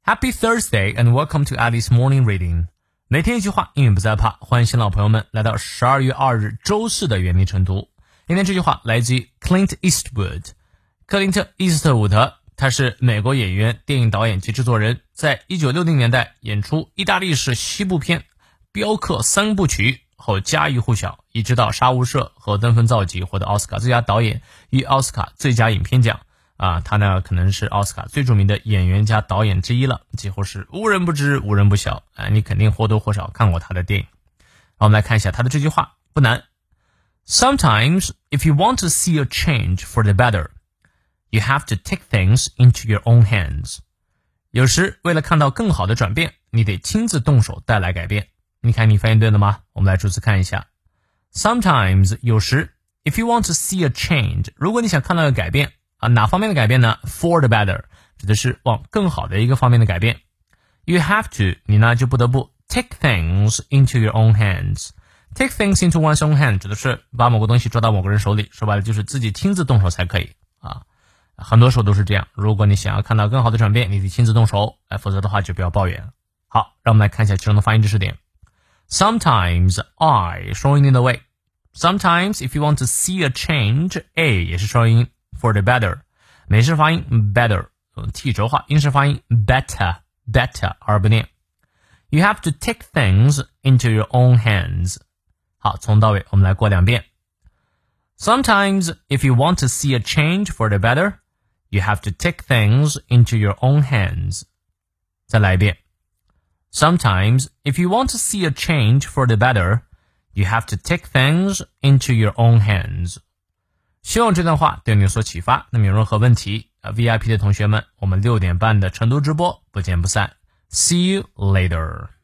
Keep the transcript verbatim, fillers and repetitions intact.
Happy Thursday and welcome to Alice Morning Reading. 每天一句话，英语不再怕。欢迎新老朋友们来到十二月二日周四的原力晨读。今天这句话来自于 Clint Eastwood。克林特·伊斯特伍德，他是美国演员、电影导演及制作人，在一九六零年代演出意大利式西部片《镖客三部曲》后家喻户晓，一直到《杀无赦》和《登峰造极》获得奥斯卡最佳导演与奥斯卡最佳影片奖。啊，他呢可能是奥斯卡最著名的演员加导演之一了，几乎是无人不知无人不晓。啊，你肯定或多或少看过他的电影。好，我们来看一下他的这句话，不难。Sometimes, if you want to see a change for the better, you have to take things into your own hands. 有时为了看到更好的转变，你得亲自动手带来改变。你看你发现对了吗？我们来逐词看一下。Sometimes 有时 if you want to see a change 如果你想看到一个改变啊，哪方面的改变呢？ For the better 指的是往更好的一个方面的改变。You have to 你呢就不得不 take things into your own hands. Take things into one's own hand 指的是把某个东西抓到某个人手里，说白了就是自己亲自动手才可以啊。很多时候都是这样，如果你想要看到更好的转变，你得亲自动手，哎，否则的话就不要抱怨了。好，让我们来看一下其中的发音知识点。Sometimes I 双音 in the way. Sometimes if you want to see a change, A 也是双音 for the better. 美式发音 better, T 轴化，英式发音 better, better 而不念。You have to take things into your own hands. 好，从到尾我们来过两遍。Sometimes if you want to see a change for the better, you have to take things into your own hands. 再来一遍。Sometimes, if you want to see a change for the better, you have to take things into your own hands. 希望这段话对你有所启发。那么有任何问题 V I P 的同学们，我们六点半的晨读直播不见不散。See you later.